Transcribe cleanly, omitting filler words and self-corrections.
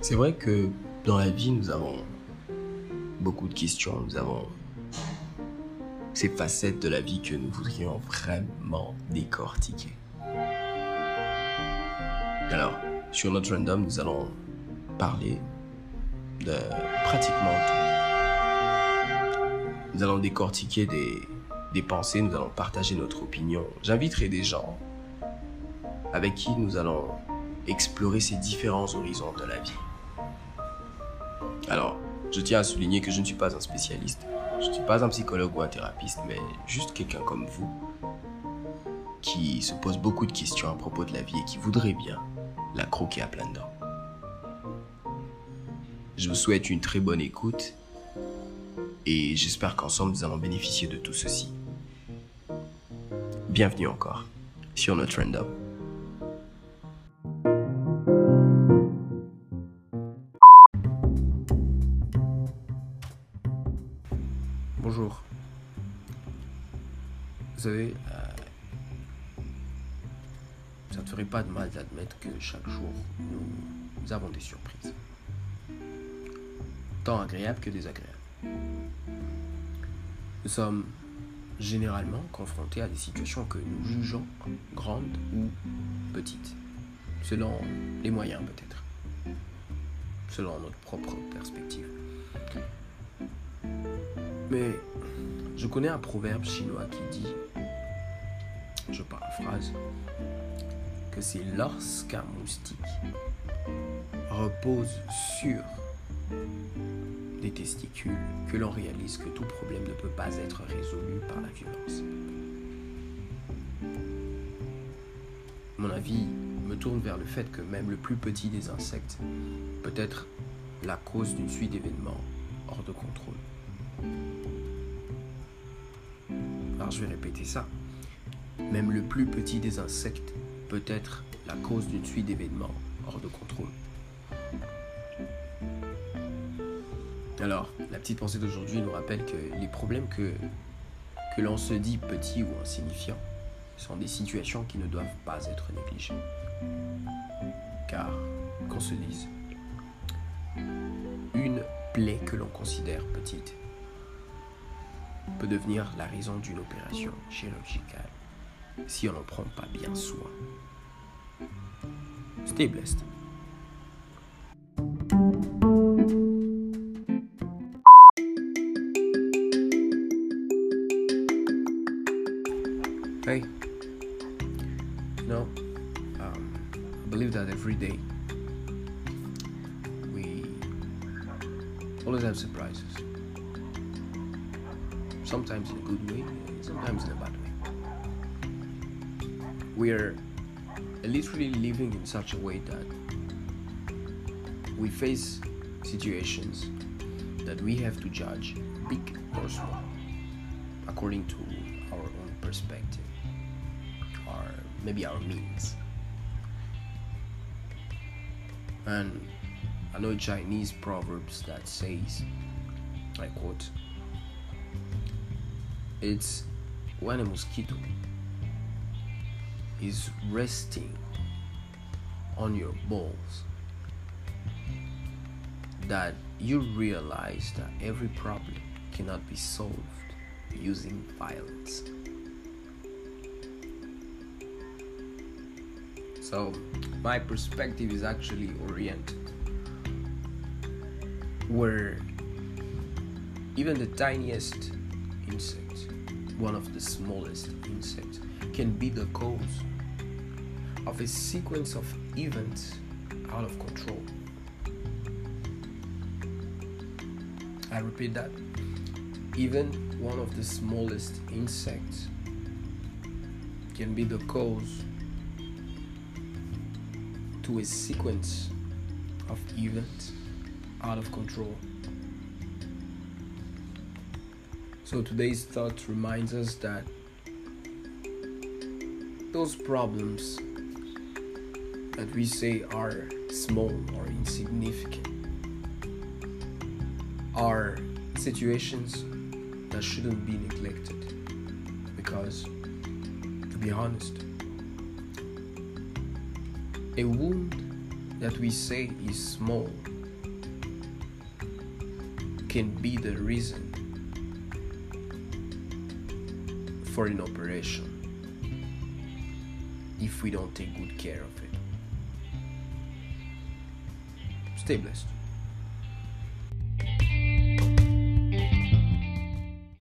C'est vrai que dans la vie, nous avons beaucoup de questions, nous avons ces facettes de la vie que nous voudrions vraiment décortiquer. Alors, sur notre random, nous allons parler de pratiquement tout. Nous allons décortiquer des pensées, nous allons partager notre opinion. J'inviterai des gens avec qui nous allons explorer ces différents horizons de la vie. Alors, je tiens à souligner que je ne suis pas un spécialiste, je ne suis pas un psychologue ou un thérapeute, mais juste quelqu'un comme vous qui se pose beaucoup de questions à propos de la vie et qui voudrait bien la croquer à pleines dents. Je vous souhaite une très bonne écoute et j'espère qu'ensemble nous allons bénéficier de tout ceci. Bienvenue encore sur notre random. Bonjour. Vous savez, ça ne ferait pas de mal d'admettre que chaque jour, nous avons des surprises. Tant agréables que désagréables. Nous sommes généralement confrontés à des situations que nous jugeons grandes ou petites, selon les moyens peut-être, selon notre propre perspective. Mais je connais un proverbe chinois qui dit, je paraphrase, que c'est lorsqu'un moustique repose sur des testicules que l'on réalise que tout problème ne peut pas être résolu par la violence. Mon avis me tourne vers le fait que même le plus petit des insectes peut être la cause d'une suite d'événements hors de contrôle. Alors je vais répéter ça. Même le plus petit des insectes peut être la cause d'une suite d'événements hors de contrôle. Alors, la petite pensée d'aujourd'hui nous rappelle que les problèmes que l'on se dit petits ou insignifiants sont des situations qui ne doivent pas être négligées. Car, qu'on se dise, une plaie que l'on considère petite peut devenir la raison d'une opération chirurgicale si on n'en prend pas bien soin. Stay blessed. Hey, I believe that every day we always have surprises. Sometimes in a good way, sometimes in a bad way. We're literally living in such a way that we face situations that we have to judge, big or small, according to our own perspective, or maybe our means. And I know Chinese proverbs that says, I quote, it's when a mosquito is resting on your balls that you realize that every problem cannot be solved using violence. So my perspective is actually oriented where even the tiniest insect, one of the smallest insects, can be the cause of a sequence of events out of control. I repeat that. Even one of the smallest insects can be the cause to a sequence of events out of control. So today's thought reminds us that those problems that we say are small or insignificant are situations that shouldn't be neglected, because, to be honest, a wound that we say is small can be the reason for an operation if we don't take good care of it. Stay blessed.